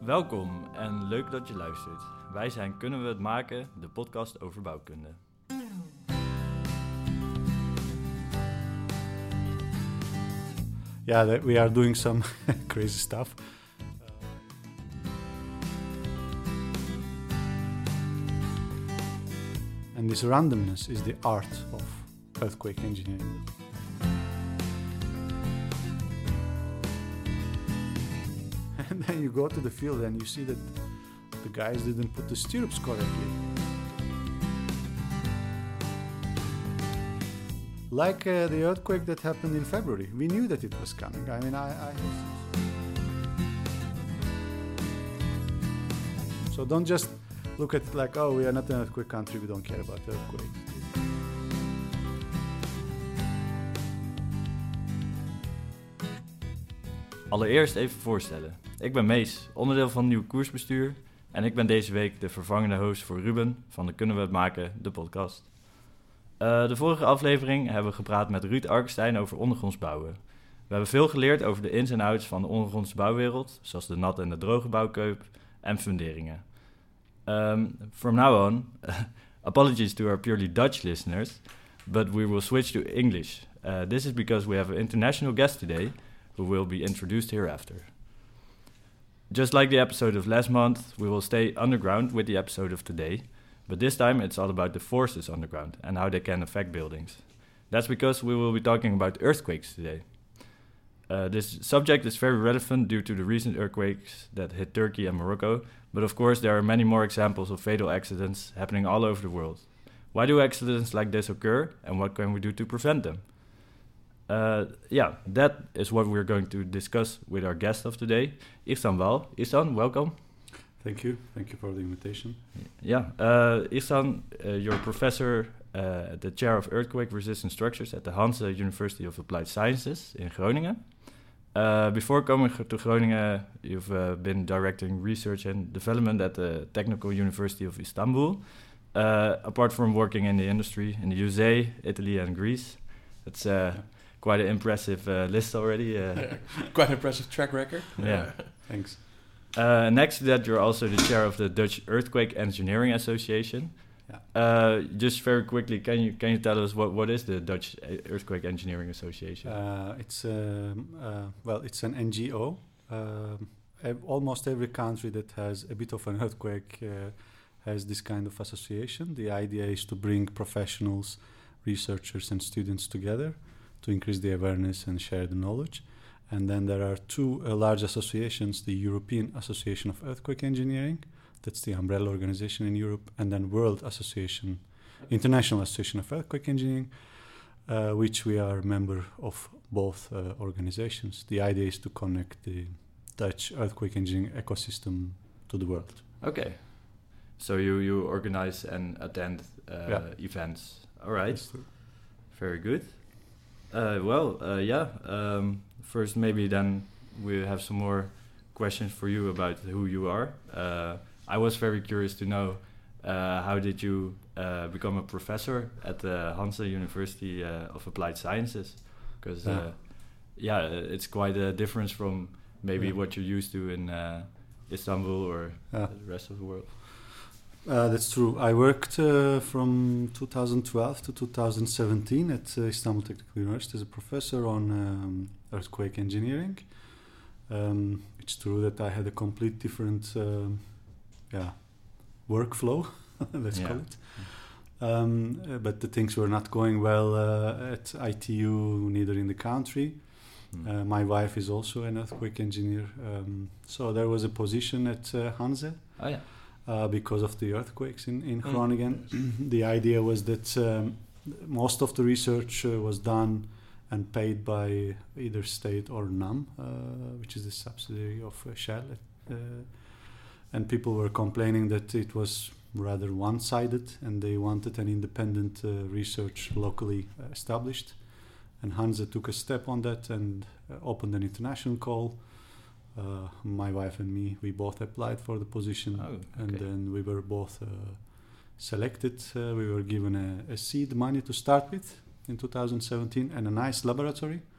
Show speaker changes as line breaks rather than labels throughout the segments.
Welkom en leuk dat je luistert. Wij zijn Kunnen we het maken, de podcast over bouwkunde.
Yeah, we are doing some crazy stuff. And this randomness is the art of earthquake engineering. And then you go to the field and you see that the guys didn't put the stirrups correctly. Like the earthquake that happened in February. We knew that it was coming. I mean, So don't just look at it like, oh, we are not an earthquake country, we don't care about earthquakes.
Allereerst even voorstellen. Ik ben Mees, onderdeel van Nieuw Koersbestuur. En ik ben deze week de vervangende host voor Ruben van de Kunnen we het maken, de podcast. De vorige aflevering hebben we gepraat met Ruud Arkestein over ondergronds bouwen. We hebben veel geleerd over de ins en outs van de ondergrondse bouwwereld, zoals de natte en de droge bouwkeup en funderingen. From now on, apologies to our purely Dutch listeners, but we will switch to English. This is because we have an international guest today, who will be introduced hereafter. Just like the episode of last month, we will stay underground with the episode of today, but this time it's all about the forces underground and how they can affect buildings. That's because we will be talking about earthquakes today. This subject is very relevant due to the recent earthquakes that hit Turkey and Morocco, but of course there are many more examples of fatal accidents happening all over the world. Why do accidents like this occur, and what can we do to prevent them? That is what we're going to discuss with our guest of today, Ihsan Wal. Ihsan, welcome.
Thank you for the invitation.
Yeah, Ihsan, you're a professor at the Chair of Earthquake-Resistant Structures at the Hanze University of Applied Sciences in Groningen. Before coming to Groningen, you've been directing research and development at the Technical University of Istanbul. Apart from working in the industry in the USA, Italy and Greece. That's quite an impressive list already.
Quite an impressive track record.
Yeah.
Thanks.
Next to that, you're also the chair of the Dutch Earthquake Engineering Association. Yeah. Just very quickly, can you tell us what is the Dutch Earthquake Engineering Association?
It's an NGO. Almost every country that has a bit of an earthquake has this kind of association. The idea is to bring professionals, researchers and students together to increase the awareness and share the knowledge. And then there are two large associations, the European Association of Earthquake Engineering, that's the umbrella organization in Europe, and then International Association of Earthquake Engineering, which we are a member of both organizations. The idea is to connect the Dutch earthquake engineering ecosystem to the world.
Okay. So you organize and attend events. All right. Very good. First maybe then we have some more questions for you about who you are. I was very curious to know how did you become a professor at the Hanze University of Applied Sciences? Because it's quite a difference from maybe what you're used to in Istanbul or the rest of the world.
That's true. I worked from 2012 to 2017 at Istanbul Technical University as a professor on earthquake engineering. It's true that I had a complete different workflow, let's call it. But the things were not going well at ITU, neither in the country. My wife is also an earthquake engineer. So there was a position at Hanze.
Oh, yeah.
Because of the earthquakes in Groningen. The idea was that most of the research was done and paid by either state or NAM, which is the subsidiary of Shell. And people were complaining that it was rather one-sided and they wanted an independent research locally established. And Hanze took a step on that and opened an international call. My wife and me, we both applied for the position, and then we were both selected. We were given a seed money to start with in 2017 and a nice laboratory.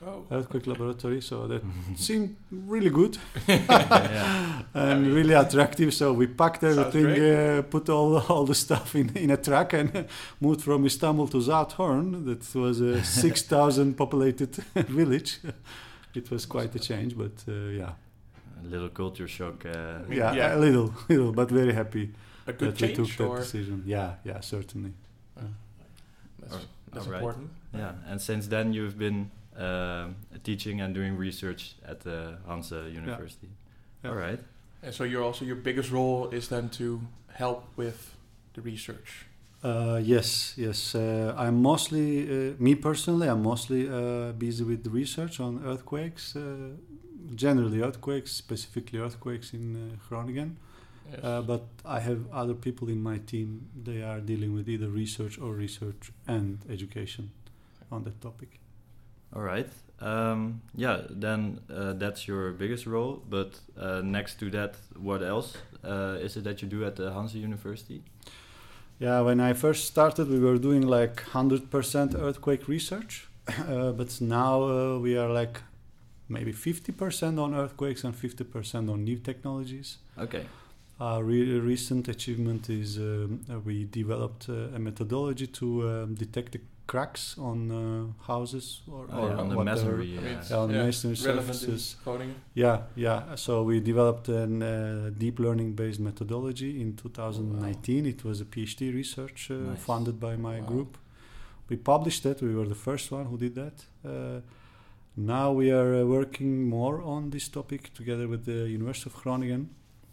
earthquake laboratory. So that seemed really good
Yeah.
and really attractive. So we packed everything, put all the stuff in a truck and moved from Istanbul to Zathorn. That was a 6,000 populated village. It was quite a change, but yeah.
A little culture shock.
A little, but very happy
A good
that we
change,
took
or
that decision. Yeah, certainly.
that's
All right.
important.
Yeah, and since then you've been teaching and doing research at the Hanse University.
Yeah.
All right.
And so your biggest role is then to help with the research.
Yes. I'm mostly, me personally, I'm mostly busy with the research on earthquakes, generally earthquakes, specifically earthquakes in Groningen.
Yes.
But I have other people in my team. They are dealing with either research and education on that topic.
All right. Then that's your biggest role. But next to that, what else is it that you do at the Hanse University?
Yeah, when I first started, we were doing like 100% earthquake research. But now we are like maybe 50% on earthquakes and 50% on new technologies.
Okay.
Our recent achievement is we developed a methodology to detect the cracks on houses or
on the
whatever.
masonry.
On masonry
relevant in
surfaces.
Groningen.
Yeah. So we developed a deep learning based methodology in 2019. It was a PhD research
Nice.
funded by my
Wow.
group. We published it. We were the first one who did that. Now we are working more on this topic together with the University of Groningen.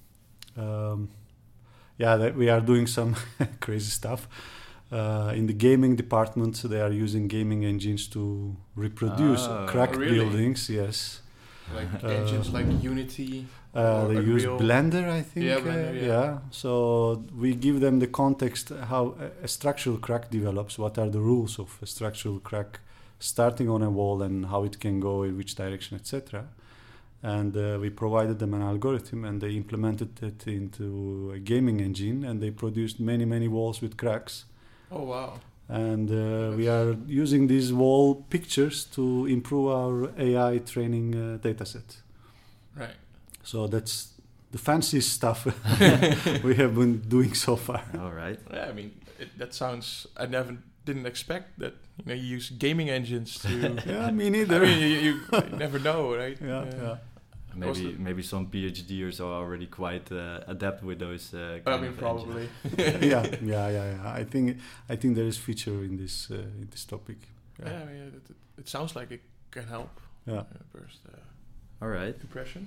We are doing some crazy stuff. In the gaming department, they are using gaming engines to reproduce cracked
really?
buildings. Yes.
Like engines like Unity.
They
or
use
Unreal.
Blender, I think.
Yeah, Blender,
So we give them the context how a structural crack develops. What are the rules of a structural crack starting on a wall and how it can go in which direction, etc. And we provided them an algorithm, and they implemented it into a gaming engine, and they produced many walls with cracks.
Oh wow.
And we are using these wall pictures to improve our AI training dataset.
Right.
So that's the fancy stuff we have been doing so far.
All right.
Yeah, I mean that sounds. I didn't expect that. You use gaming engines to.
Yeah, me neither.
I mean, you never know, right?
Yeah.
Maybe some PhDers are already quite adept with those.
I mean, probably.
Yeah. I think there is future in this topic.
Yeah, it sounds like it can help.
Yeah.
First
All right.
impression.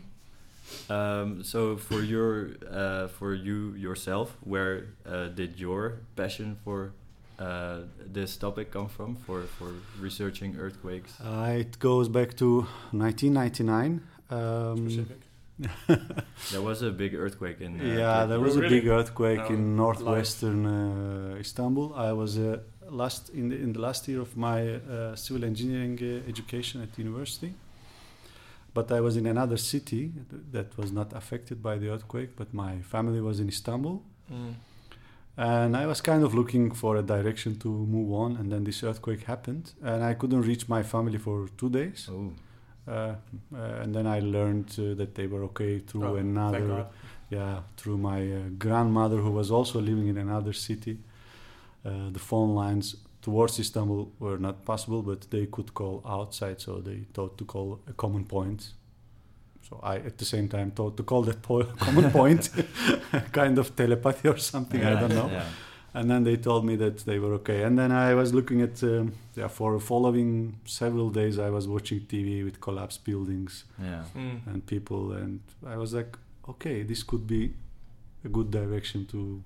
So for you yourself, where did your passion for this topic come from? For researching earthquakes?
It goes back to 1999.
Specific.
There was a big earthquake in.
There was a
Really?
big earthquake
No,
in northwestern Istanbul. I was in the last year of my civil engineering education at university, but I was in another city that was not affected by the earthquake. But my family was in Istanbul, and I was kind of looking for a direction to move on. And then this earthquake happened, and I couldn't reach my family for 2 days.
Oh.
And then I learned that they were okay through
Thank God.
through my grandmother, who was also living in another city. The phone lines towards Istanbul were not possible, but they could call outside, so they thought to call a common point. So I, at the same time, thought to call that common point, kind of telepathy or something, I don't know.
Yeah.
And then they told me that they were okay. And then I was looking at, for following several days, I was watching TV with collapsed buildings
Yeah.
and people. And I was like, okay, this could be a good direction to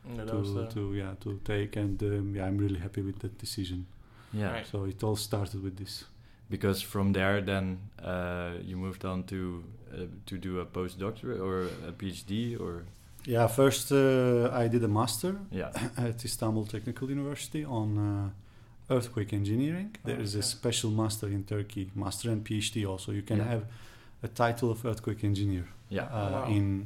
take. And I'm really happy with that decision.
Yeah.
Right.
So it all started with this.
Because from there, then you moved on to do a postdoctorate or a PhD or.
Yeah, first I did a master
Yeah.
at Istanbul Technical University on earthquake engineering. There is a special master in Turkey, master and PhD also. You can have a title of earthquake engineer.
Yeah.
Wow.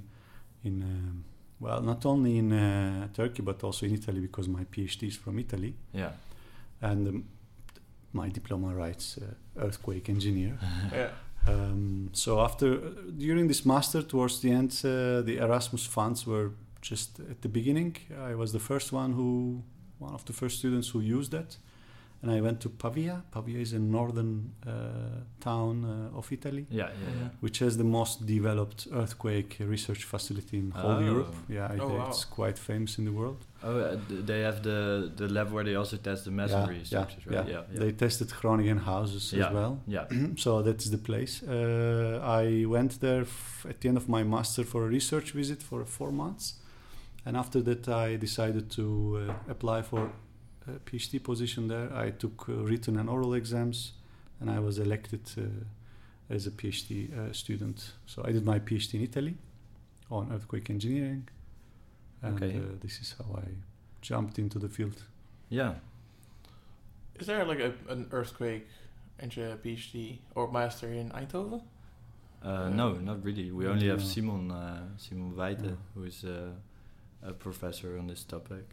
Not only in Turkey but also in Italy, because my PhD is from Italy.
Yeah.
And my diploma writes earthquake engineer.
Yeah.
So after during this master, towards the end, the Erasmus funds were just at the beginning. I was the first one of the first students who used that, and I went to Pavia. Pavia is a northern town of Italy, which has the most developed earthquake research facility in whole Europe. Yeah, it's quite famous in the world.
Oh, they have the lab where they also test the masonry structures, right?
Yeah. They tested Groningen houses as well.
Yeah.
So that's the place. I went there at the end of my master for a research visit for 4 months. And after that, I decided to apply for a PhD position there. I took written and oral exams, and I was elected as a PhD student. So I did my PhD in Italy on earthquake engineering. And this is how I jumped into the field.
Yeah.
Is there like an earthquake engineer PhD or master in Eindhoven?
No, not really. We only have Simon Weite, who is a professor on this topic.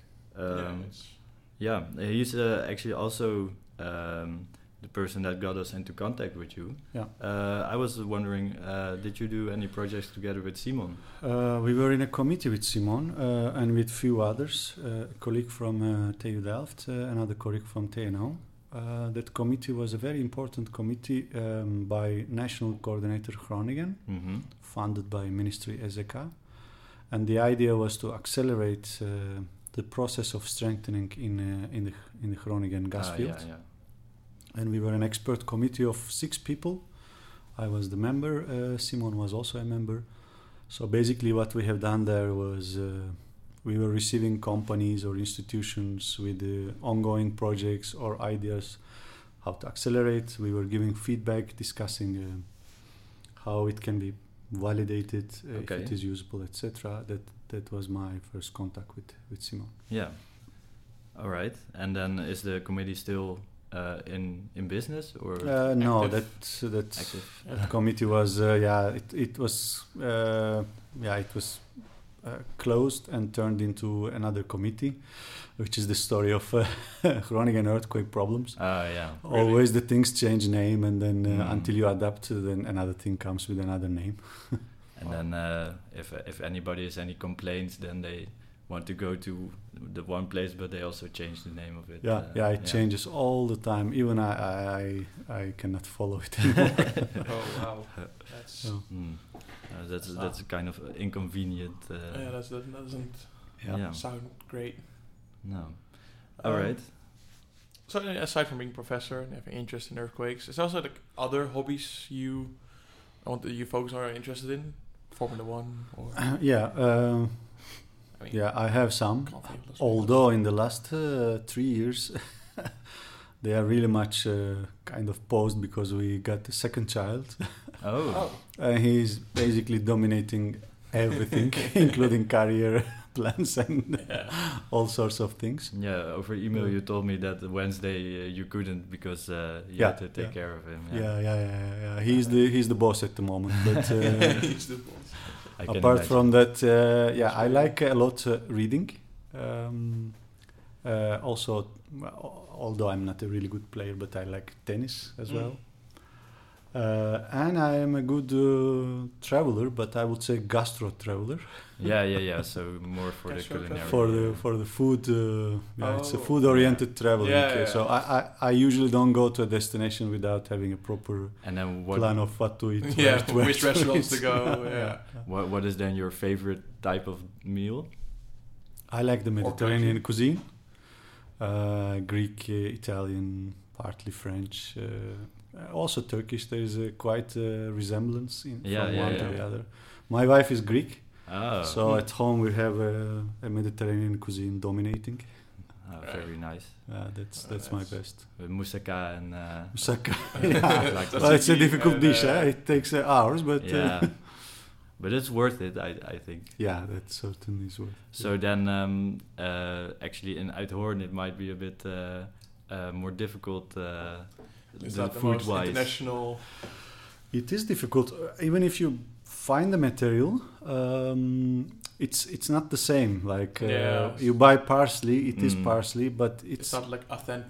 He's actually also the person that got us into contact with you. Yeah. I was wondering, did you do any projects together with Simon?
We were in a committee with Simon and with few others, a colleague from TU Delft, another colleague from TNO. That committee was a very important committee by National Coordinator Groningen, funded by Ministry EZK. And the idea was to accelerate the process of strengthening in the Groningen gas field. And we were an expert committee of 6 people. I was the member. Simon was also a member. So basically what we have done there was we were receiving companies or institutions with ongoing projects or ideas how to accelerate. We were giving feedback, discussing how it can be validated, if it is usable, etc. That was my first contact with Simon.
Yeah. All right. And then is the committee still in business or
no? That committee was it was closed and turned into another committee, which is the story of Groningen earthquake problems. Always the things change name, and then until you adapt, then another thing comes with another name.
And then if anybody has any complaints, then they want to go to the one place, but they also change the name of it.
It changes all the time. Even I cannot follow it anymore.
Oh wow,
that's a kind of inconvenient.
That doesn't sound great.
No. All right.
So aside from being a professor and having interest in earthquakes, is there also like other hobbies you folks are interested in? Formula One or
I have some. Although in the last 3 years they are really much kind of paused because we got a second child. He's basically dominating everything, including career plans and all sorts of things.
Yeah, over email you told me that Wednesday you couldn't because you had to take care of him.
Yeah. He's the boss at the moment. But
he's the boss.
Apart from that, I like a lot reading. Also, although I'm not a really good player, but I like tennis as well. And I am a good traveler, but I would say gastro traveler.
So more for the culinary.
For the food, it's a food-oriented traveling. So I usually don't go to a destination without having a proper plan of what to eat.
Which restaurants to go.
What is then your favorite type of meal?
I like the Mediterranean cuisine, Greek, Italian, partly French. Also Turkish. There is quite a resemblance from one to the other. My wife is Greek, so at home we have a Mediterranean cuisine dominating.
Very nice.
That's my best.
With moussaka and
moussaka. Well, it's a difficult dish. It takes hours, but
but it's worth it. I think.
Yeah, that certainly is worth it.
So then, actually, in Uithoorn it might be a bit more difficult.
Is that the most international?
It is difficult, even if you find the material. It's not the same. Like you buy parsley, it is parsley, but it's
not like authentic.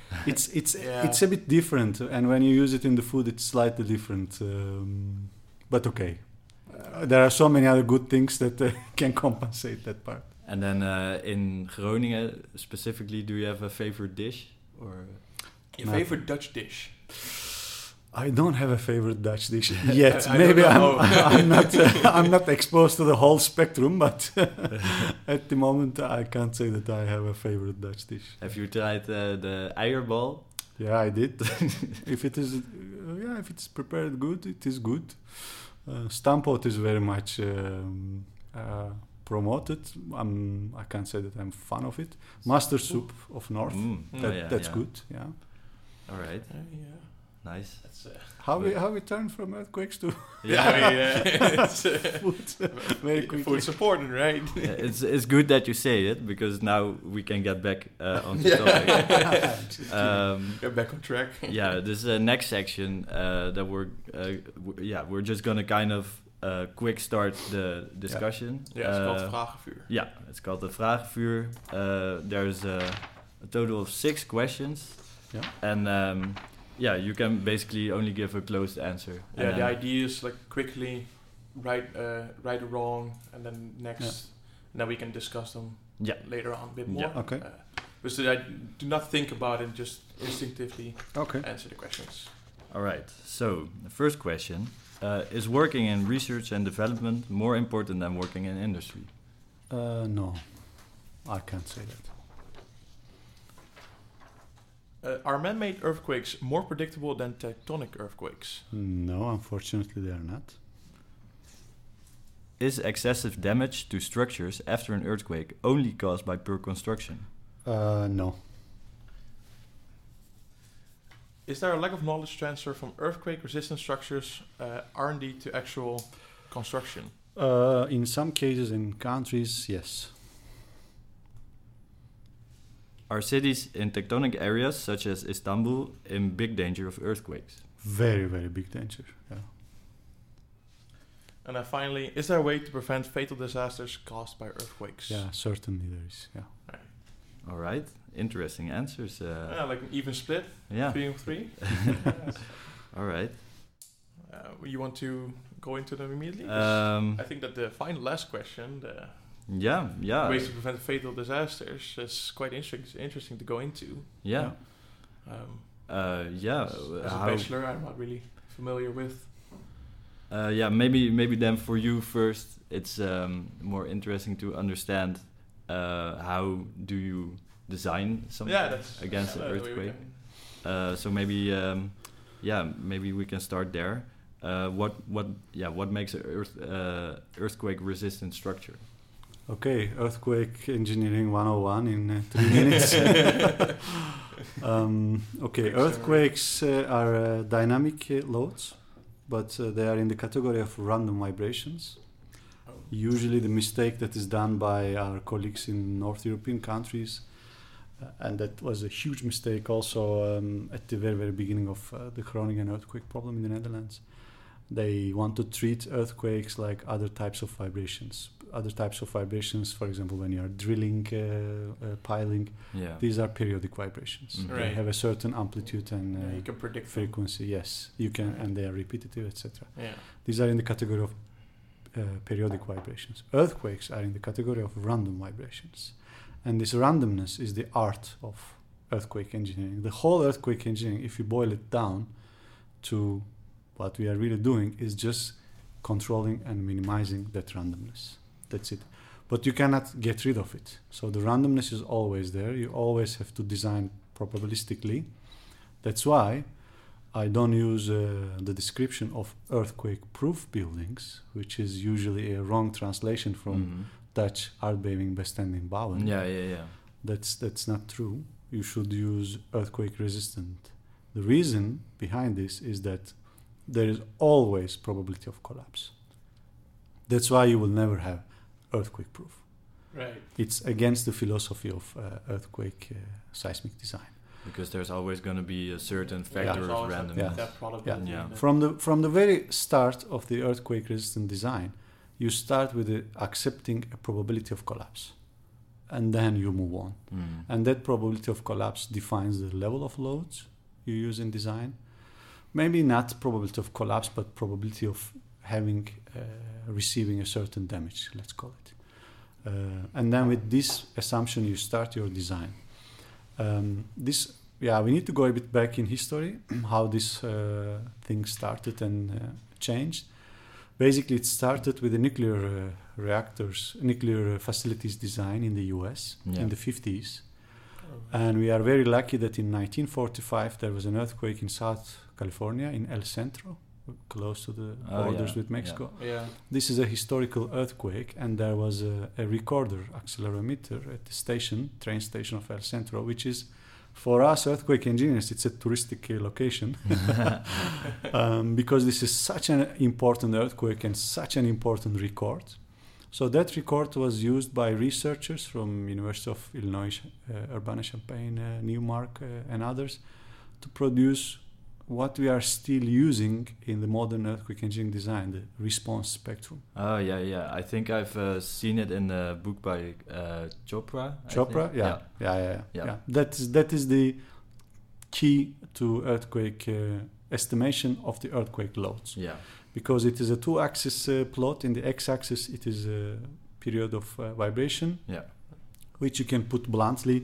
It's a bit different, and when you use it in the food, it's slightly different. But okay, there are so many other good things that can compensate that part.
And then in Groningen specifically, do you have a favorite dish or
Your favorite Dutch dish?
I don't have a favorite Dutch dish yet.
I
Maybe
don't know.
I'm not exposed to the whole spectrum, but at the moment I can't say that I have a favorite Dutch dish.
have you tried the eierbal?
Yeah, I did. If it is, if it's prepared good, it is good. Stamppot is very much promoted. I can't say that I'm a fan of it. Mustard soup of North, that's good. Yeah.
All right.
Yeah.
Nice.
That's,
How we turn from earthquakes to
it's,
food very quickly.
food's important, right?
Yeah, it's good that you say it because now we can get back on the topic.
Get back on track.
Yeah, this next section that we're just gonna kind of quick start the discussion.
Yeah, it's called Vragenvuur.
Yeah, it's called the Vragenvuur. There's a total of 6 questions.
Yeah.
And you can basically only give a closed answer.
Yeah, the idea is like quickly right or wrong, and then next, and then we can discuss them later on a bit more.
Yeah. Okay.
But so I do not think about it, just instinctively answer the questions.
All right. So the first question: is working in research and development more important than working in industry?
No, I can't say that.
Are man-made earthquakes more predictable than tectonic earthquakes?
No, unfortunately they are not.
Is excessive damage to structures after an earthquake only caused by poor construction?
No.
Is there a lack of knowledge transfer from earthquake-resistant structures R&D to actual construction?
In some cases in countries, yes.
Are cities in tectonic areas such as Istanbul in big danger of earthquakes?
Very, very big danger. Yeah.
And then finally, is there a way to prevent fatal disasters caused by earthquakes?
Yeah, certainly there is. Yeah.
All right, interesting answers.
Like an even split, 3-3.
All right.
You want to go into them immediately? I think that the last question, ways to prevent fatal disasters, is quite interesting to go into.
Yeah.
As a bachelor, I'm not really familiar with.
Maybe then for you first, it's more interesting to understand how do you design something against an earthquake. So maybe maybe we can start there. What makes an earthquake resistant structure?
Okay, earthquake engineering 101 in 3 minutes. Earthquakes are dynamic loads, but they are in the category of random vibrations. Usually the mistake that is done by our colleagues in North European countries, and that was a huge mistake also at the very, very beginning of the Groningen earthquake problem in the Netherlands. They want to treat earthquakes like other types of vibrations. Other types of vibrations, for example, when you are drilling, piling, these are periodic vibrations.
Mm-hmm.
They have a certain amplitude and
you can predict
frequency. Yes, you can, and they are repetitive, etc.
Yeah.
These are in the category of periodic vibrations. Earthquakes are in the category of random vibrations, and this randomness is the art of earthquake engineering. The whole earthquake engineering, if you boil it down to what we are really doing, is just controlling and minimizing that randomness. That's it. But you cannot get rid of it. So the randomness is always there. You always have to design probabilistically. That's why I don't use the description of earthquake-proof buildings, which is usually a wrong translation from Dutch aardbeving bestendig bouwen.
Yeah.
That's not true. You should use earthquake-resistant. The reason behind this is that there is always probability of collapse. That's why you will never have earthquake proof.
Right.
It's against the philosophy of earthquake seismic design.
Because there's always going to be a certain factor of randomness.
From the very start of the earthquake resistant design, you start with accepting a probability of collapse. and then you move on. And that probability of collapse defines the level of loads you use in design. Maybe not probability of collapse, but probability of receiving a certain damage, let's call it. And then with this assumption, you start your design. We need to go a bit back in history, how this thing started and changed. Basically, it started with the nuclear facilities design in the US in the 50s. And we are very lucky that in 1945 there was an earthquake in South California, in El Centro, close to the borders with Mexico. This is a historical earthquake, and there was a recorder, accelerometer, at the train station of El Centro, which is, for us earthquake engineers, it's a touristic location because this is such an important earthquake and such an important record. So that record was used by researchers from University of Illinois, Urbana-Champaign, Newmark, and others to produce what we are still using in the modern earthquake engineering design, the response spectrum.
Oh, yeah. I think I've seen it in a book by Chopra.
Chopra? Yeah. That is the key to earthquake estimation of the earthquake loads.
Yeah.
Because it is a two-axis plot. In the x-axis, it is a period of vibration, which you can put bluntly.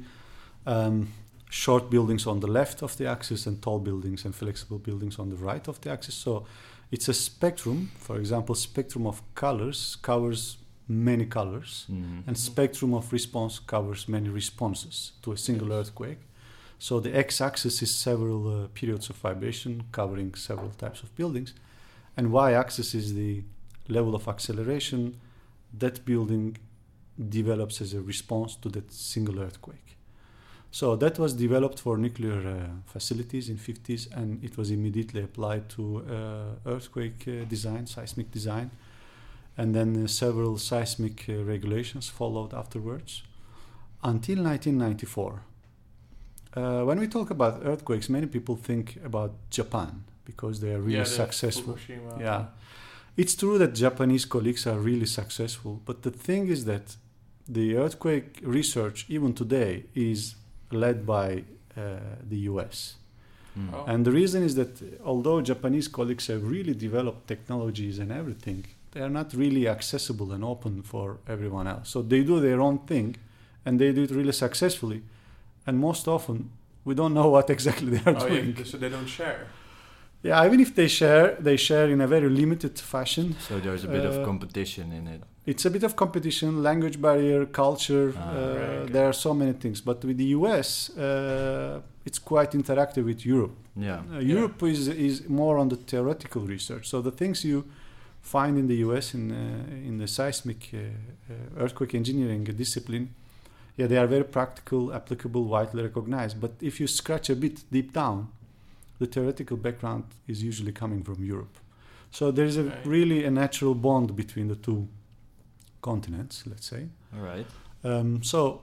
Short buildings on the left of the axis and tall buildings and flexible buildings on the right of the axis. So it's a spectrum. For example, spectrum of colors covers many colors, and spectrum of response covers many responses to a single earthquake. So the x-axis is several periods of vibration covering several types of buildings, and y-axis is the level of acceleration that building develops as a response to that single earthquake. So that was developed for nuclear facilities in 50s, and it was immediately applied to earthquake design, seismic design, and then several seismic regulations followed afterwards until 1994. When we talk about earthquakes, many people think about Japan because they are really successful. It's true that Japanese colleagues are really successful, but the thing is that the earthquake research, even today, is led by the US. And the reason is that although Japanese colleagues have really developed technologies and everything, they are not really accessible and open for everyone else. So they do their own thing, and they do it really successfully. And most often, we don't know what exactly they are doing.
So they don't share?
Yeah, even if they share in a very limited fashion.
So there's a bit of competition in it.
It's a bit of competition, language barrier, culture. There are so many things. But with the US, it's quite interactive with Europe. Europe is more on the theoretical research. So the things you find in the US in the seismic earthquake engineering discipline, they are very practical, applicable, widely recognized. But if you scratch a bit deep down, the theoretical background is usually coming from Europe. So there is really a natural bond between the two continents, let's say.
All right.
So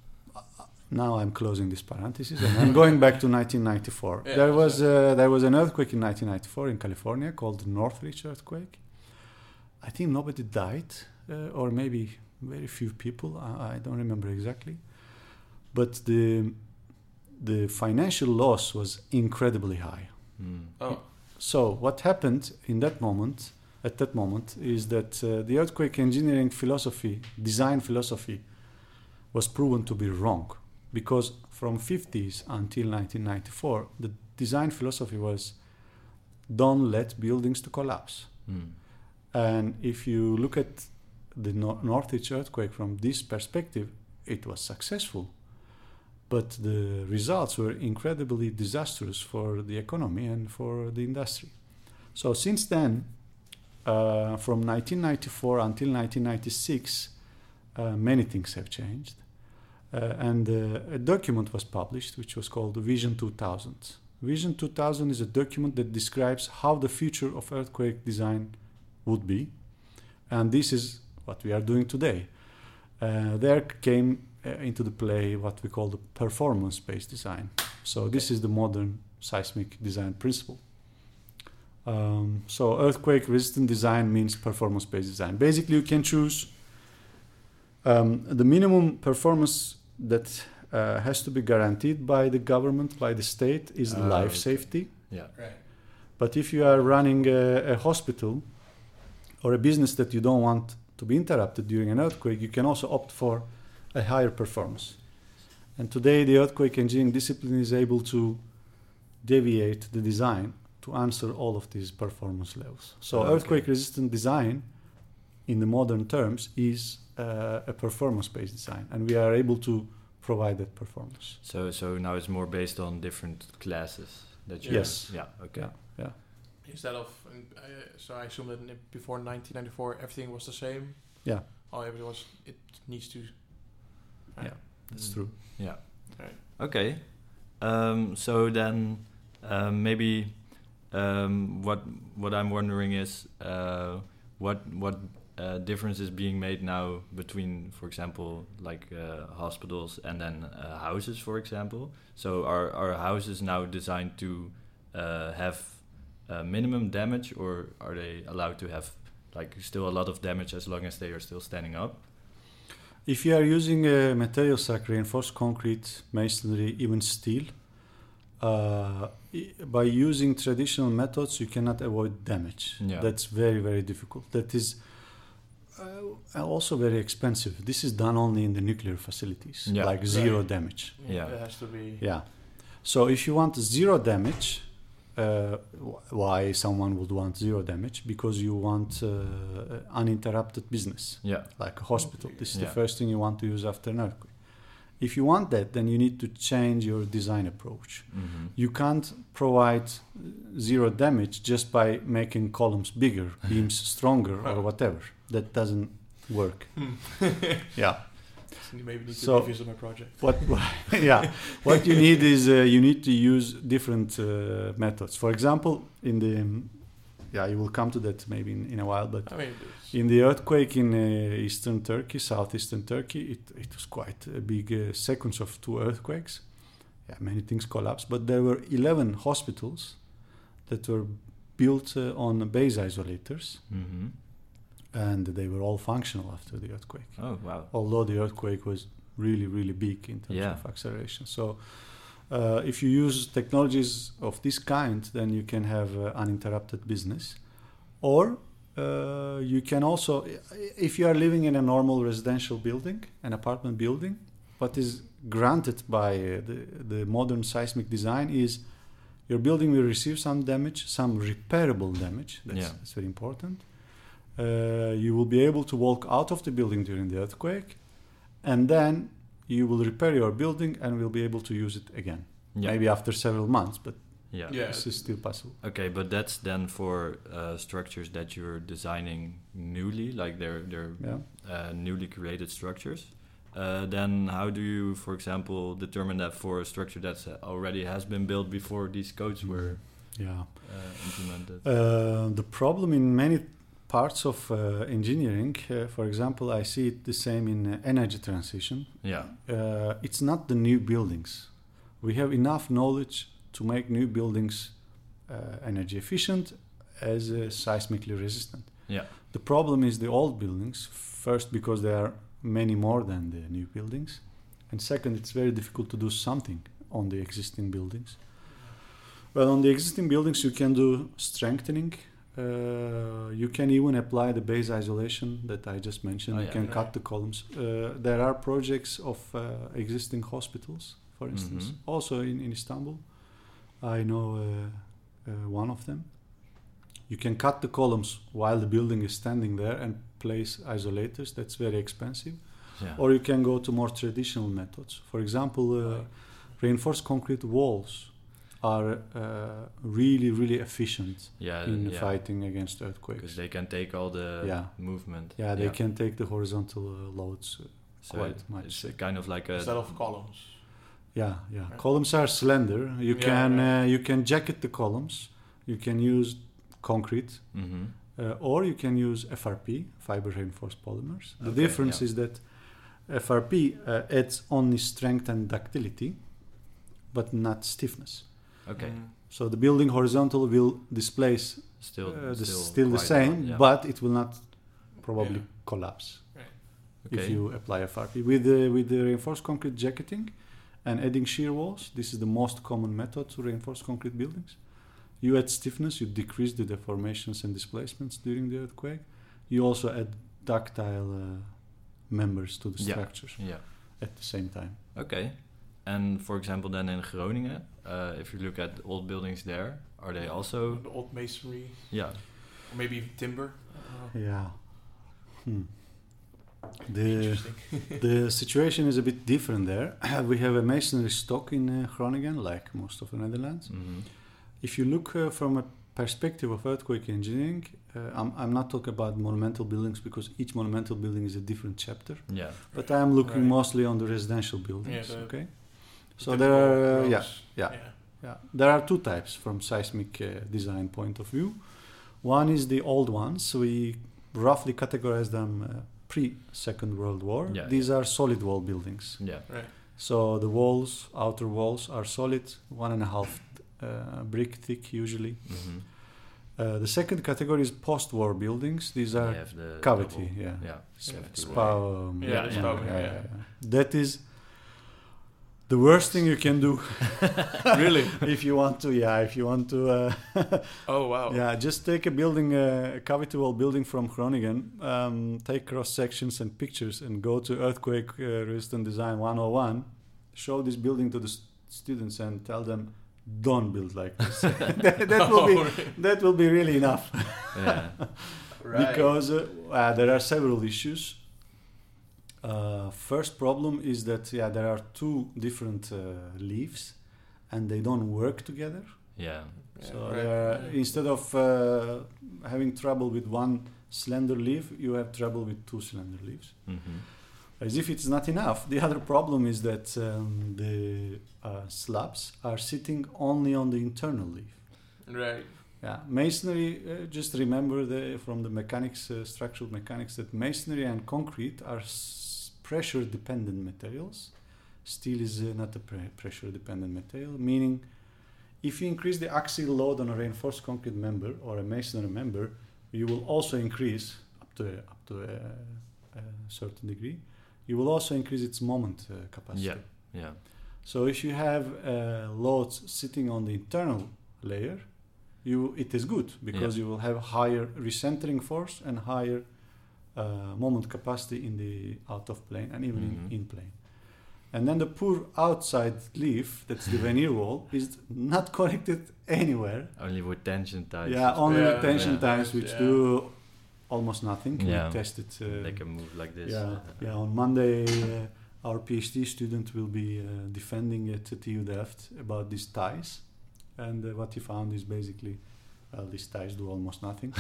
now I'm closing this parenthesis and I'm going back to 1994. There was an earthquake in 1994 in California called the Northridge earthquake. I think nobody died, or maybe very few people. I don't remember exactly. But the financial loss was incredibly high. So what happened at that moment, is that the earthquake engineering design philosophy, was proven to be wrong, because from 50s until 1994, the design philosophy was don't let buildings to collapse. And if you look at the Northridge earthquake from this perspective, it was successful. But the results were incredibly disastrous for the economy and for the industry. So since then, from 1994 until 1996, many things have changed. And a document was published which was called Vision 2000. Vision 2000 is a document that describes how the future of earthquake design would be. And this is what we are doing today. There came into the play what we call the performance-based design. So this is the modern seismic design principle. So earthquake-resistant design means performance-based design. Basically, you can choose The minimum performance that has to be guaranteed by the government, by the state, is life safety.
Yeah.
Right.
But if you are running a hospital or a business that you don't want to be interrupted during an earthquake, you can also opt for a higher performance. And today the earthquake engineering discipline is able to deviate the design to answer all of these performance levels. So earthquake-resistant design, in the modern terms, is a performance-based design, and we are able to provide that performance.
So now it's more based on different classes that you...
Yes.
Yeah, okay.
Yeah.
Instead of... so I assume that before 1994 everything was the same?
Yeah.
Everything was... It needs to...
Yeah, that's true.
Yeah.
Right.
Okay. So then maybe what I'm wondering is what difference is being made now between, for example, like hospitals and then houses, for example. So are houses now designed to have minimum damage, or are they allowed to have like still a lot of damage as long as they are still standing up?
If you are using materials like reinforced concrete, masonry, even steel, by using traditional methods, you cannot avoid damage.
Yeah.
That's very, very difficult. That is also very expensive. This is done only in the nuclear facilities, like zero damage.
Yeah, it has to be...
Yeah. So if you want zero damage, why someone would want zero damage? Because you want uninterrupted business, like a hospital. This is the first thing you want to use after an earthquake. If you want that, then you need to change your design approach.
Mm-hmm.
You can't provide zero damage just by making columns bigger, beams stronger, or whatever. That doesn't work. Yeah.
So you maybe need to revisit my project.
What you need is you need to use different methods. For example, in the you will come to that maybe in a while, but in the earthquake in eastern Turkey, southeastern Turkey, it was quite a big sequence of 2 earthquakes. Yeah, many things collapsed, but there were 11 hospitals that were built on base isolators.
Mm-hmm.
And they were all functional after the earthquake.
Oh, wow.
Although the earthquake was really, really big in terms of acceleration. So if you use technologies of this kind, then you can have uninterrupted business. Or you can also, if you are living in a normal residential building, an apartment building, what is granted by the modern seismic design is your building will receive some damage, some repairable damage. That's very important. You will be able to walk out of the building during the earthquake, and then you will repair your building and will be able to use it again. Maybe after several months, but this is still possible.
Okay, but that's then for structures that you're designing newly, like they're newly created structures. Then how do you, for example, determine that for a structure that already has been built before these codes were implemented?
The problem in many parts of engineering, for example, I see it the same in energy transition. It's not the new buildings. We have enough knowledge to make new buildings energy efficient as seismically resistant. The problem is the old buildings, first because there are many more than the new buildings, and second, it's very difficult to do something on the existing buildings. Well, on the existing buildings you can do strengthening. You can even apply the base isolation that I just mentioned. You can cut the columns. There are projects of existing hospitals, for instance, also in Istanbul. I know one of them. You can cut the columns while the building is standing there and place isolators. That's very expensive. Or you can go to more traditional methods. For example, reinforced concrete walls are really, really efficient in fighting against earthquakes.
Because they can take all the movement.
They can take the horizontal loads quite much.
It's kind of like a...
Instead of columns.
Yeah. Columns are slender. You can jacket the columns. You can use concrete. Or you can use FRP, fiber reinforced polymers. The difference is that FRP adds only strength and ductility, but not stiffness. So the building horizontal will displace still the same, but it will not probably collapse. if you apply FRP. With the reinforced concrete jacketing and adding shear walls, this is the most common method to reinforce concrete buildings. You add stiffness, you decrease the deformations and displacements during the earthquake. You also add ductile members to the structures at the same time.
Okay. And for example, then in Groningen, if you look at old buildings there, are they also...
The old masonry?
Yeah.
Or maybe timber?
Yeah. The situation is a bit different there. We have a masonry stock in Groningen, like most of the Netherlands.
Mm-hmm.
If you look from a perspective of earthquake engineering, I'm not talking about monumental buildings because each monumental building is a different chapter.
Yeah.
But I'm looking mostly on the residential buildings. Okay. So there are there are two types from seismic design point of view. One is the old ones. We roughly categorize them pre-Second World War.
Yeah,
These are solid wall buildings.
Yeah.
Right.
So the walls, outer walls, are solid, 1.5 brick thick usually.
Mm-hmm.
The second category is post-war buildings. These are cavity. That is the worst thing you can do.
Really?
If you want to.
Oh wow.
Yeah, just take a building, a cavity wall building from Groningen. Take cross sections and pictures, and go to Earthquake Resistant Design 101. Show this building to the students and tell them, don't build like this. that will be really enough.
Yeah.
Right.
Because there are several issues. First problem is that there are two different leaves and they don't work together.
Yeah.
So instead of having trouble with one slender leaf, you have trouble with two slender leaves.
Mm-hmm.
As if it's not enough, the other problem is that the slabs are sitting only on the internal leaf.
Right.
Yeah, masonry, just remember from the mechanics, structural mechanics, that masonry and concrete are pressure-dependent materials. Steel is not a pressure-dependent material, meaning if you increase the axial load on a reinforced concrete member or a masonry member, you will also increase, up to a certain degree, you will also increase its moment capacity.
Yeah.
So if you have loads sitting on the internal layer, it is good because you will have higher recentering force and higher moment capacity in the out of plane and even in plane. And then the poor outside leaf, that's the veneer wall, is not connected anywhere.
Only with tension ties.
Yeah, only with tension ties, which do almost nothing.
Yeah.
We tested.
They can move like this.
Yeah. On Monday, our PhD student will be defending at TU Delft about these ties, and what he found is basically, these ties do almost nothing.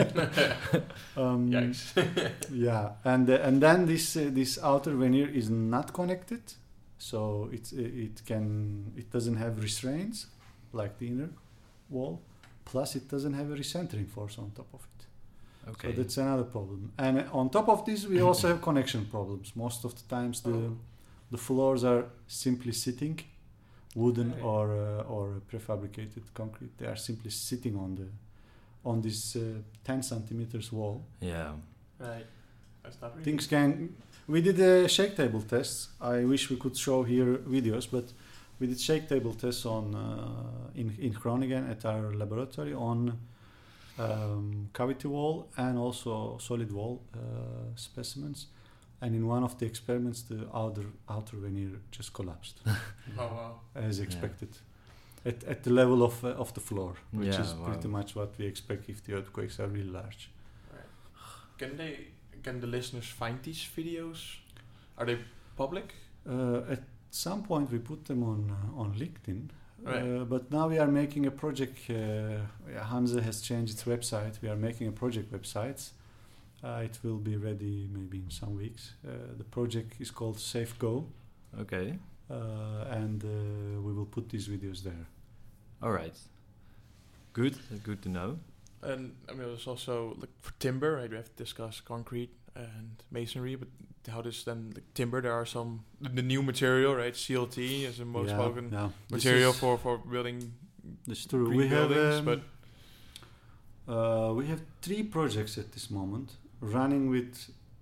Yikes.
Yeah, and then this outer veneer is not connected, so it doesn't have restraints like the inner wall. Plus, it doesn't have a recentering force on top of it.
Okay.
So that's another problem. And on top of this, we also have connection problems. Most of the times, the floors are simply sitting, wooden or prefabricated concrete. They are simply sitting on this 10 centimeters wall.
Yeah.
Right. That's not really.
Things can. We did a shake table test. I wish we could show here videos, but we did shake table tests in Groningen at our laboratory on cavity wall and also solid wall specimens. And in one of the experiments, the outer veneer just collapsed.
Oh wow! As
expected, at the level of the floor, which is pretty much what we expect if the earthquakes are really large.
Right. Can the listeners find these videos? Are they public?
At some point, we put them on LinkedIn.
Right.
But now we are making a project. Hanze has changed its website. We are making a project website. It will be ready maybe in some weeks. The project is called SafeGo.
Okay.
And we will put these videos there.
All right. Good to know.
And I mean, there's also like for timber, right? We have to discuss concrete and masonry, but how does then timber? There are some the new material, right? CLT is the most spoken material for building.
That's true.
We have
3 projects at this moment running with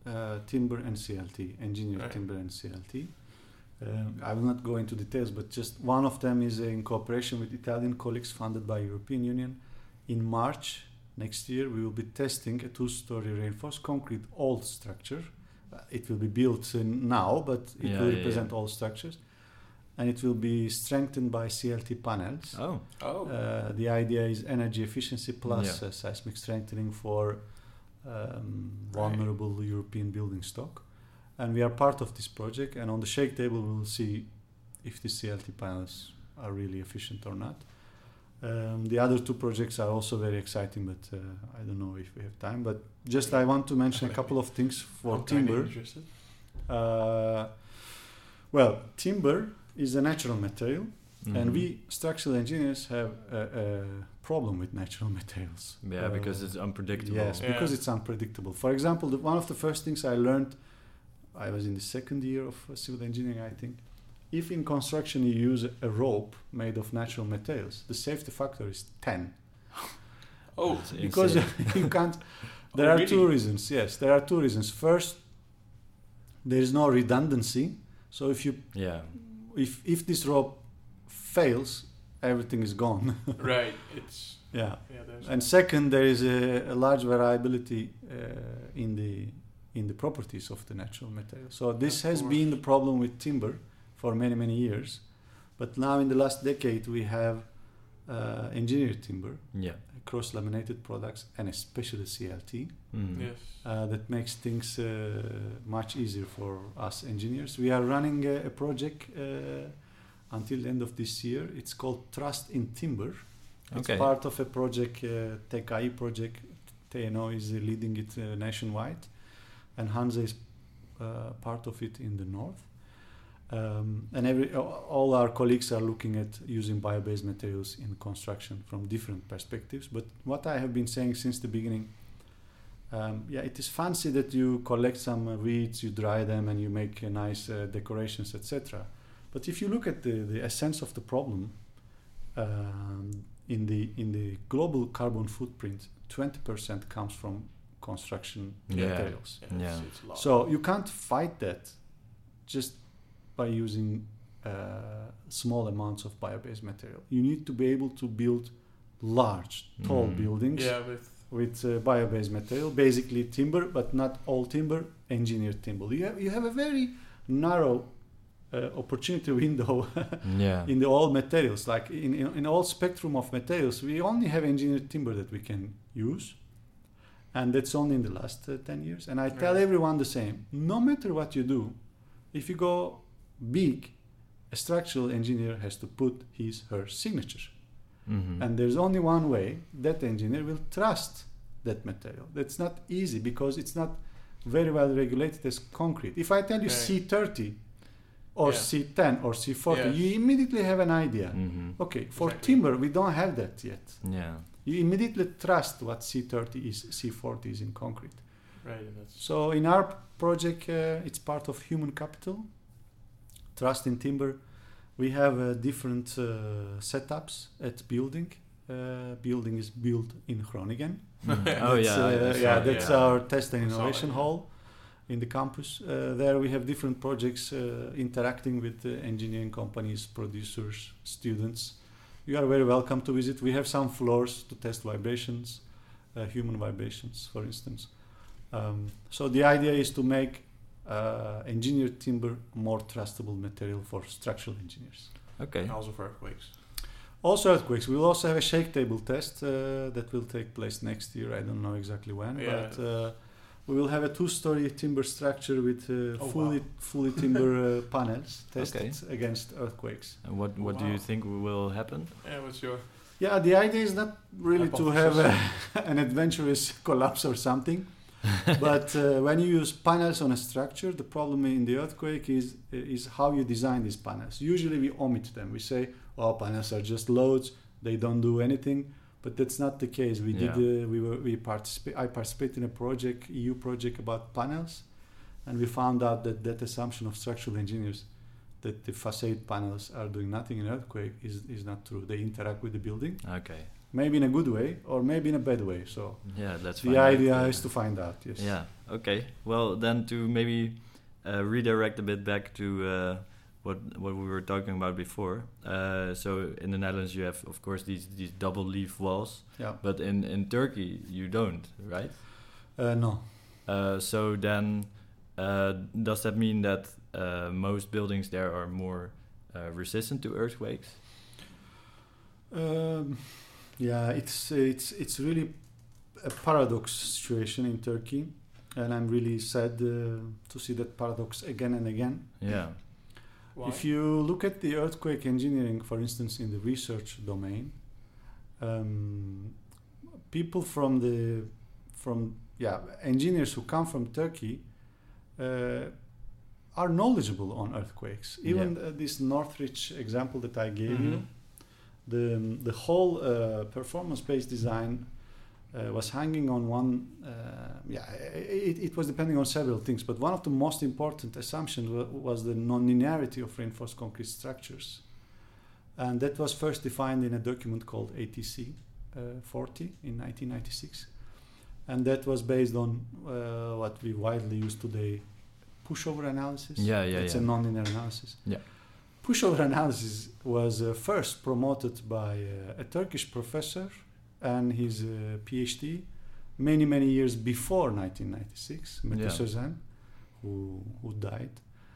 timber and CLT, engineered timber and CLT. I will not go into details, but just one of them is in cooperation with Italian colleagues funded by European Union. In March next year, we will be testing a 2-story reinforced concrete old structure. It will be built now, but it will represent all structures. And it will be strengthened by CLT panels. The idea is energy efficiency plus seismic strengthening for vulnerable European building stock. And we are part of this project, and on the shake table we will see if the CLT panels are really efficient or not. The other 2 projects are also very exciting, but I don't know if we have time. But just I want to mention a couple of things for timber. Well, timber is a natural material, and we structural engineers have a problem with natural materials.
Yeah, because it's unpredictable.
Yes, because it's unpredictable. For example, one of the first things I learned, I was in the 2nd year of civil engineering, I think. If in construction you use a rope made of natural materials, the safety factor is 10. Because you can't. There are 2 reasons. Yes, there are 2 reasons. First, there is no redundancy. So if you if this rope fails, everything is gone.
Right. It's
and second, there is a large variability in the properties of the natural material. So this has been the problem with timber for many years, but now in the last decade we have engineered timber, cross-laminated products, and especially CLT. That makes things much easier for us engineers. We are running a project until the end of this year. It's called Trust in Timber. It's part of a project, TKI project. TNO is leading it nationwide, and Hansa is part of it in the north. And all our colleagues are looking at using bio-based materials in construction from different perspectives. But what I have been saying since the beginning, it is fancy that you collect some weeds, you dry them, and you make nice decorations, etc. But if you look at the essence of the problem, in the global carbon footprint, 20% comes from construction materials. So you can't fight that just by using small amounts of bio-based material. You need to be able to build large, tall buildings with bio-based material, basically timber, but not all timber, engineered timber. You have a very narrow opportunity window in the all materials. Like in all spectrum of materials, we only have engineered timber that we can use. And that's only in the last 10 years. And I tell everyone the same. No matter what you do, if you go big, a structural engineer has to put her signature. And there's only one way that engineer will trust that material. That's not easy because it's not very well regulated as concrete. If I tell you C30 or C10 or C40, you immediately have an idea. Okay, for timber, we don't have that yet. You immediately trust what C30 is, C40 is in concrete. So in our project, it's part of human capital. Trust in timber. We have different setups at building. Building is built in Groningen. That's our test and innovation hall in the campus. There we have different projects interacting with engineering companies, producers, students. You are very welcome to visit. We have some floors to test vibrations, human vibrations, for instance. So the idea is to make engineered timber more trustable material for structural engineers.
And also for earthquakes.
Also earthquakes. We will also have a shake table test that will take place next year. I don't know exactly when, but we will have a 2-story timber structure with fully timber panels tested against earthquakes.
And what do you think will happen?
What's your...
the idea is not really to have an adventurous collapse or something. But when you use panels on a structure, the problem in the earthquake is how you design these panels. Usually we omit them. We say, panels are just loads, they don't do anything. But that's not the case. I participated in a project, EU project about panels, and we found out that assumption of structural engineers that the facade panels are doing nothing in earthquake is not true. They interact with the building. maybe in a good way or maybe in a bad way. So
let's
the idea is to find out. Yes.
Yeah. Okay. Well, then to maybe redirect a bit back to what we were talking about before. So in the Netherlands, you have, of course, these double leaf walls.
Yeah.
But in Turkey, you don't, right?
No.
So then, does that mean that most buildings there are more resistant to earthquakes?
It's really a paradox situation in Turkey, and I'm really sad to see that paradox again and again.
Yeah.
Why?
If you look at the earthquake engineering, for instance, in the research domain, people engineers who come from Turkey are knowledgeable on earthquakes. Even this Northridge example that I gave you, the whole performance-based design was hanging on one. It was depending on several things, but one of the most important assumptions was the non-linearity of reinforced concrete structures, and that was first defined in a document called ATC 40 in 1996, and that was based on what we widely use today, pushover analysis. It's a non-linear analysis.
Yeah.
Pushover analysis was first promoted by a Turkish professor and his PhD many years before 1996, Mete Sözen, who died.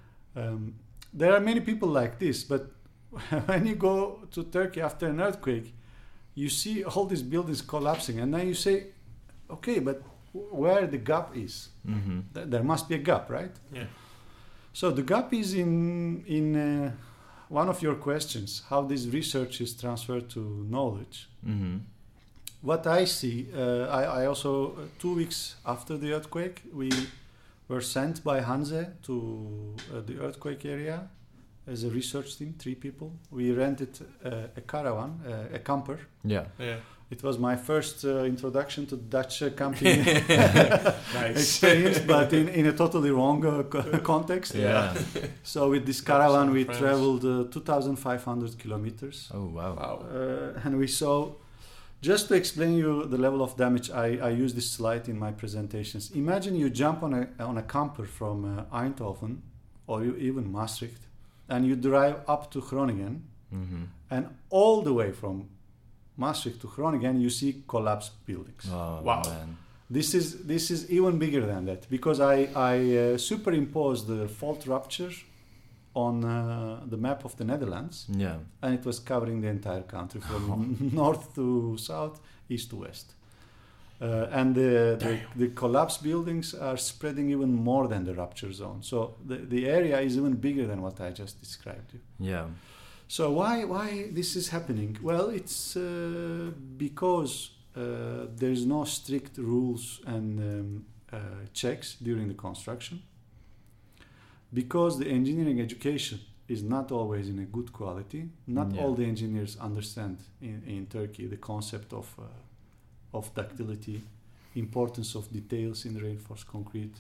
There are many people like this, but when you go to Turkey after an earthquake, you see all these buildings collapsing, and then you say, okay, but where the gap is? There must be a gap, right?
Yeah.
So the gap is in one of your questions, how this research is transferred to knowledge. What I see, I also 2 weeks after the earthquake, we were sent by Hanze to the earthquake area as a research team, 3 people. We rented a caravan, a camper.
Yeah.
It was my first introduction to Dutch camping experience, but in a totally wrong context.
Yeah.
So with this caravan, we traveled 2,500 kilometers.
Oh, wow.
And we saw, just to explain you the level of damage, I use this slide in my presentations. Imagine you jump on a camper from Eindhoven or even Maastricht, and you drive up to Groningen, and all the way from Maastricht to Groningen, you see collapsed buildings.
Oh, wow. Man.
This is even bigger than that, because I superimposed the fault rupture on the map of the Netherlands, and it was covering the entire country from north to south, east to west. And the collapsed buildings are spreading even more than the rupture zone. So the area is even bigger than what I just described you.
Yeah.
So why this is happening? Well, it's because there's no strict rules and checks during the construction. Because the engineering education is not always in a good quality. Not all the engineers understand in Turkey the concept of ductility, importance of details in reinforced concrete,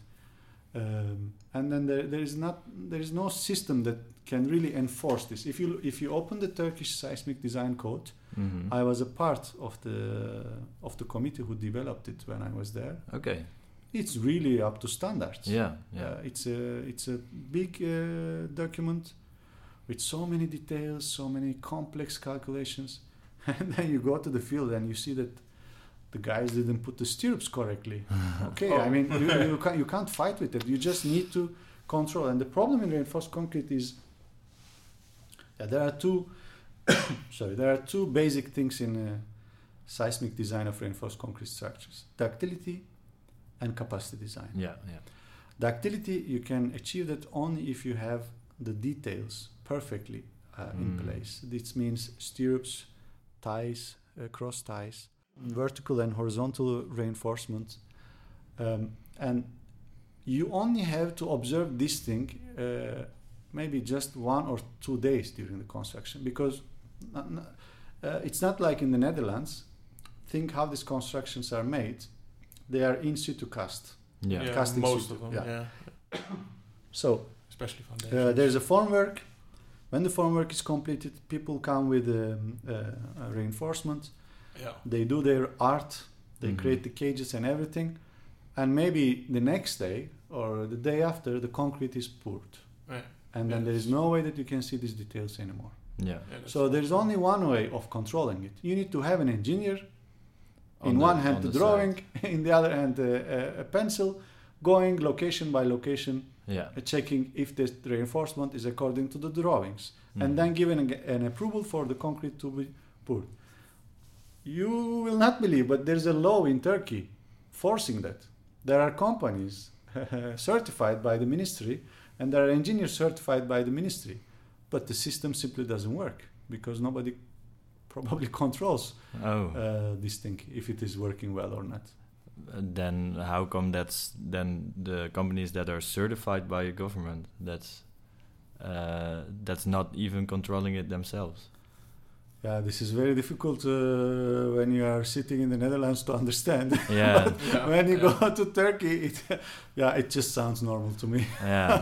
and then there is no system that can really enforce this. If you open the Turkish seismic design code, I was a part of the committee who developed it when I was there.
Okay.
It's really up to standards.
Yeah.
It's a big document with so many details, so many complex calculations, and then you go to the field and you see that the guys didn't put the stirrups correctly. Okay, I mean you can't fight with it. You just need to control. And the problem in reinforced concrete is there are two basic things in seismic design of reinforced concrete structures: ductility and capacity design.
Yeah.
Ductility, you can achieve that only if you have the details perfectly in place. This means stirrups, ties, cross ties, vertical and horizontal reinforcement, and you only have to observe this thing maybe just 1 or 2 days during the construction, because it's not like in the Netherlands. Think how these constructions are made. They are in situ cast. Casting
most
situ.
of them.
So
especially foundations.
there's a formwork. When the formwork is completed, people come with reinforcement, They do their art, they create the cages and everything, and maybe the next day or the day after, the concrete is poured.
Right.
And then there is no way that you can see these details anymore.
Yeah.
So there's only one way of controlling it. You need to have an engineer, in one hand the drawing, in the other hand a pencil, going location by location, checking if the reinforcement is according to the drawings, and then giving an approval for the concrete to be poured. You will not believe, but there's a law in Turkey forcing that. There are companies certified by the ministry, and there are engineers certified by the ministry, but the system simply doesn't work because nobody probably controls this thing, if it is working well or not.
Then how come that's then the companies that are certified by a government that's not even controlling it themselves?
Yeah, this is very difficult when you are sitting in the Netherlands to understand.
Yeah.
When you go to Turkey, it just sounds normal to me.
Yeah.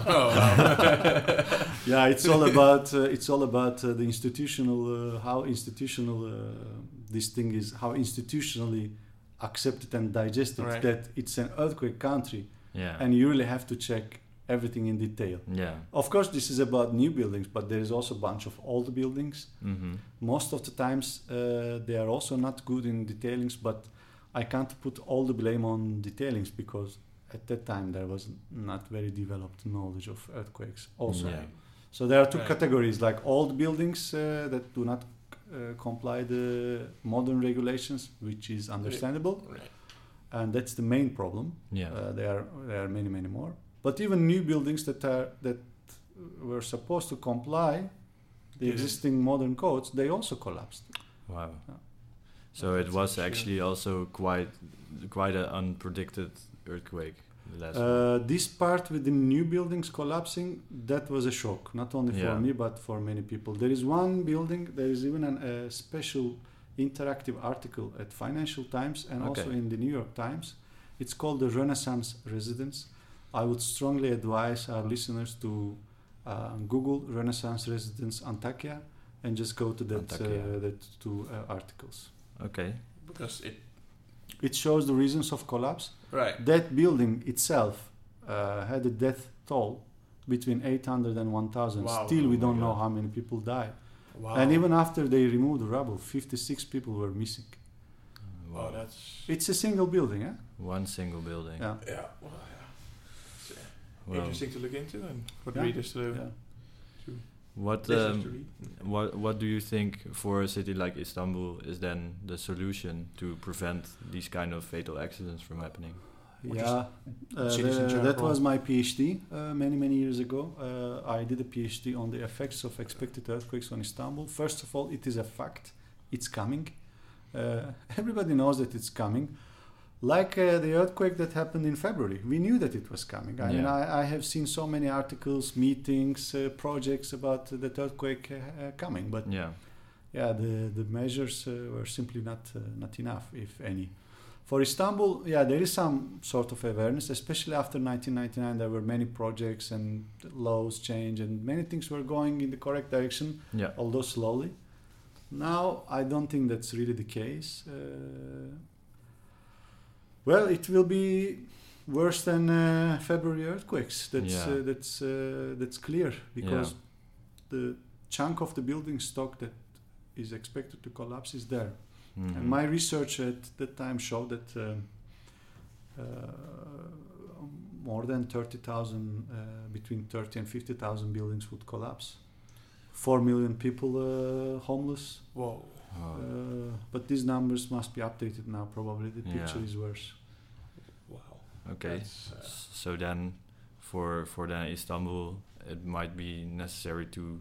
Yeah, it's all about the institutional how institutional this thing is, how institutionally accepted and digested that it's an earthquake country, and you really have to check everything in detail.
Yeah.
Of course, this is about new buildings, but there is also a bunch of old buildings. Most of the times they are also not good in detailings, but I can't put all the blame on detailings because at that time there was not very developed knowledge of earthquakes also. So there are two categories, like old buildings that do not comply the modern regulations, which is understandable, and that's the main problem. There are many more. But even new buildings that were supposed to comply the existing modern codes, they also collapsed.
Wow. So it was actually also quite an unpredicted earthquake.
This part with the new buildings collapsing, that was a shock, not only for me but for many people. There is one building, there is even a special interactive article at Financial Times and also in the New York Times. It's called the Renaissance Residence. I would strongly advise our listeners to Google Renaissance Residence Antakya and just go to that two articles.
Okay. Because
it shows the reasons of collapse.
Right.
That building itself had a death toll between 800 and 1,000.
Wow.
Still, we don't know how many people died.
Wow.
And even after they removed the rubble, 56 people were missing.
Wow,
It's a single building, eh?
One single building.
Yeah.
Yeah. Well, interesting to look into and for readers to
What do you think for a city like Istanbul is then the solution to prevent these kind of fatal accidents from happening?
That was my PhD many years ago. I did a PhD on the effects of expected earthquakes on Istanbul. First of all, it is a fact. It's coming. Everybody knows that it's coming. Like the earthquake that happened in February, we knew that it was coming. I mean, I have seen so many articles, meetings, projects about that earthquake coming, but the measures were simply not enough, if any. For Istanbul, there is some sort of awareness, especially after 1999. There were many projects and laws changed, and many things were going in the correct direction, although slowly. Now, I don't think that's really the case. Well, it will be worse than February earthquakes. That's clear because the chunk of the building stock that is expected to collapse is there. Mm-hmm. And my research at that time showed that more than 30,000, between 30 and 50,000 buildings would collapse. 4 million people homeless.
Whoa.
But these numbers must be updated now. Probably the picture is worse.
Wow.
Okay. So then, for Istanbul, it might be necessary to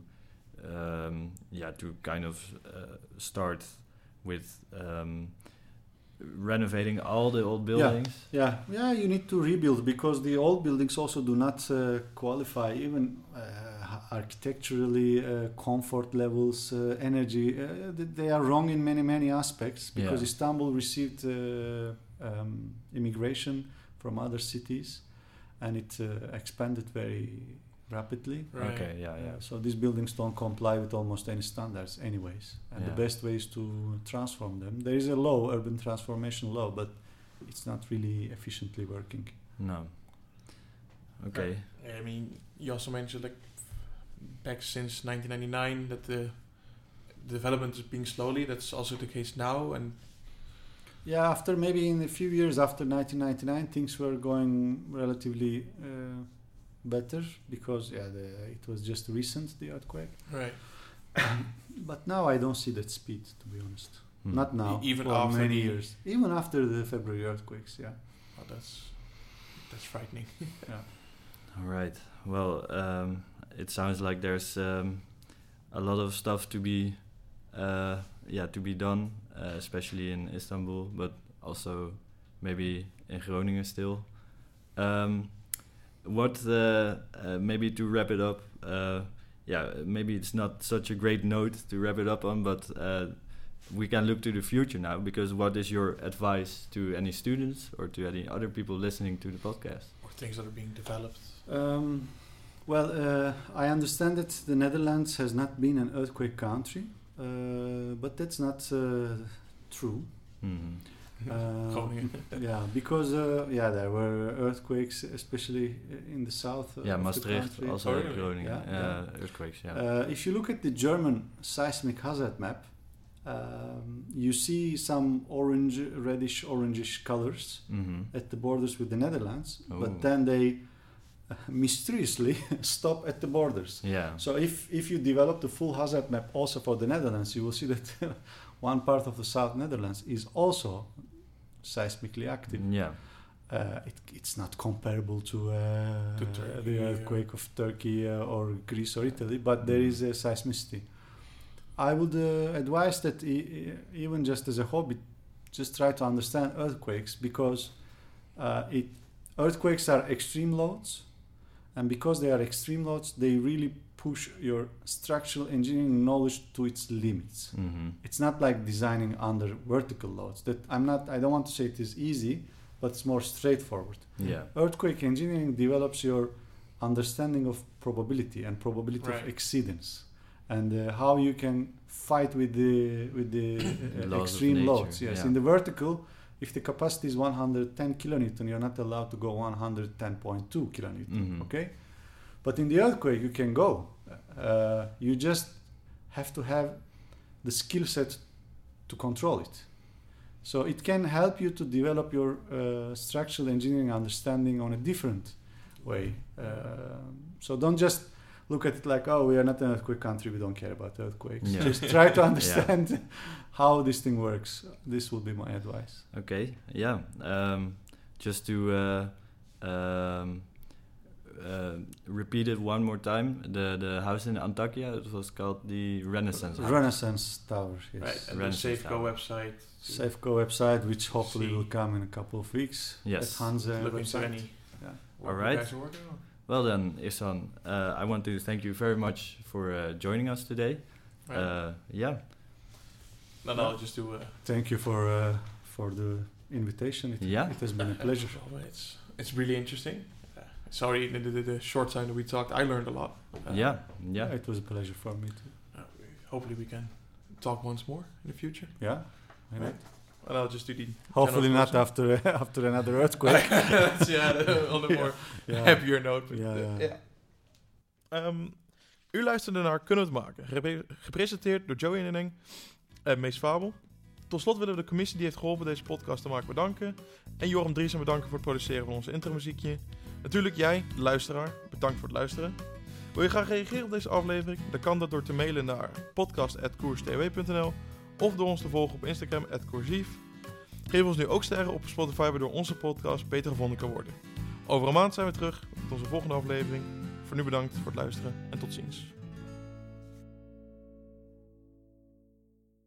kind of start with renovating all the old buildings.
Yeah. You need to rebuild because the old buildings also do not qualify even. Architecturally, comfort levels, energy, they are wrong in many aspects because Istanbul received immigration from other cities and it expanded very rapidly.
Right.
Okay, yeah.
So these buildings don't comply with almost any standards anyways. And
Yeah.
the best way is to transform them. There is a law, urban transformation law, but it's not really efficiently working.
No. Okay.
I mean, you also mentioned like back since 1999 that the development is being slowly. That's also the case now, and
Yeah, after maybe in a few years after 1999, things were going relatively better because it was just recent, the earthquake.
right.
But now I don't see that speed, to be honest. Not now.
Even
for
after
many
the-
years. Even after the February earthquakes, yeah.
Oh, that's frightening.
Yeah.
All right. Well, it sounds like there's a lot of stuff to be done, especially in Istanbul, but also maybe in Groningen still. Maybe to wrap it up, maybe it's not such a great note to wrap it up on, but we can look to the future now, because what is your advice to any students or to any other people listening to the podcast?
Or things that are being developed.
I understand that the Netherlands has not been an earthquake country, but that's not true.
Mm-hmm.
Groningen.
Because there were earthquakes, especially in the south. Of
Maastricht,
the country.
also
Oh, really?
Groningen, earthquakes. Yeah.
If you look at the German seismic hazard map, you see some reddish-orangish colors at the borders with the Netherlands, but then they mysteriously stop at the borders.
Yeah.
So if you develop the full hazard map also for the Netherlands, you will see that one part of the South Netherlands is also seismically active.
Yeah.
It's not comparable to
Turkey,
the earthquake of Turkey or Greece or Italy, but there is a seismicity. I would advise that even just as a hobby, just try to understand earthquakes, because earthquakes are extreme loads, and because they are extreme loads, they really push your structural engineering knowledge to its limits.
Mm-hmm.
It's not like designing under vertical loads. I don't want to say it is easy, but it's more straightforward.
Yeah.
Earthquake engineering develops your understanding of probability and probability
Right.
of exceedance, and how you can fight with the
Laws of
extreme
nature,
loads. Yes,
yeah.
in the vertical, if the capacity is 110 kilonewton, you're not allowed to go 110.2 kilonewton.
Mhm.
Okay, but in the earthquake, you can go. You just have to have the skill set to control it. So it can help you to develop your structural engineering understanding on a different way. So don't just look at it like, oh, we are not an earthquake country, we don't care about earthquakes.
Yeah.
Just try to understand how this thing works. This would be my advice.
Okay. Yeah. Just to repeat it one more time. The house in Antakya, it was called the Renaissance House.
Renaissance Tower, yes.
Right, and
Renaissance
the Safeco
Tower.
website.
Safeco website, which hopefully
See.
will come in a couple of weeks.
Yes.
At Hanze
Look into
website.
any
Yeah.
work
Alright.
you guys are working on.
Well then, Ihsan, I want to thank you very much for joining us today.
Right.
Yeah.
No, I'll just do.
Thank you for the invitation. It has been a pleasure.
It's really interesting. Sorry, the short time that we talked, I learned a lot.
Yeah.
It was a pleasure for me too.
Hopefully, we can talk once more in the future.
Yeah. Why not?
Right. And I'll just do the.
Hopefully
general
not after another earthquake.
That's, on a more happier note. But, u luisterde naar Kunnen we het maken? Gepresenteerd door Joey Nenning en Mees Fabel. Tot slot willen we de commissie die heeft geholpen deze podcast te maken bedanken. En Joram Driesen bedanken voor het produceren van onze intromuziekje. Natuurlijk jij, de luisteraar, bedankt voor het luisteren. Wil je graag reageren op deze aflevering? Dan kan dat door te mailen naar podcast@koerstw.nl of door ons te volgen op Instagram @koersief. Geef ons nu ook sterren op Spotify, waardoor onze podcast beter gevonden kan worden. Over een maand zijn we terug met onze volgende aflevering. Voor nu bedankt voor het luisteren en tot ziens.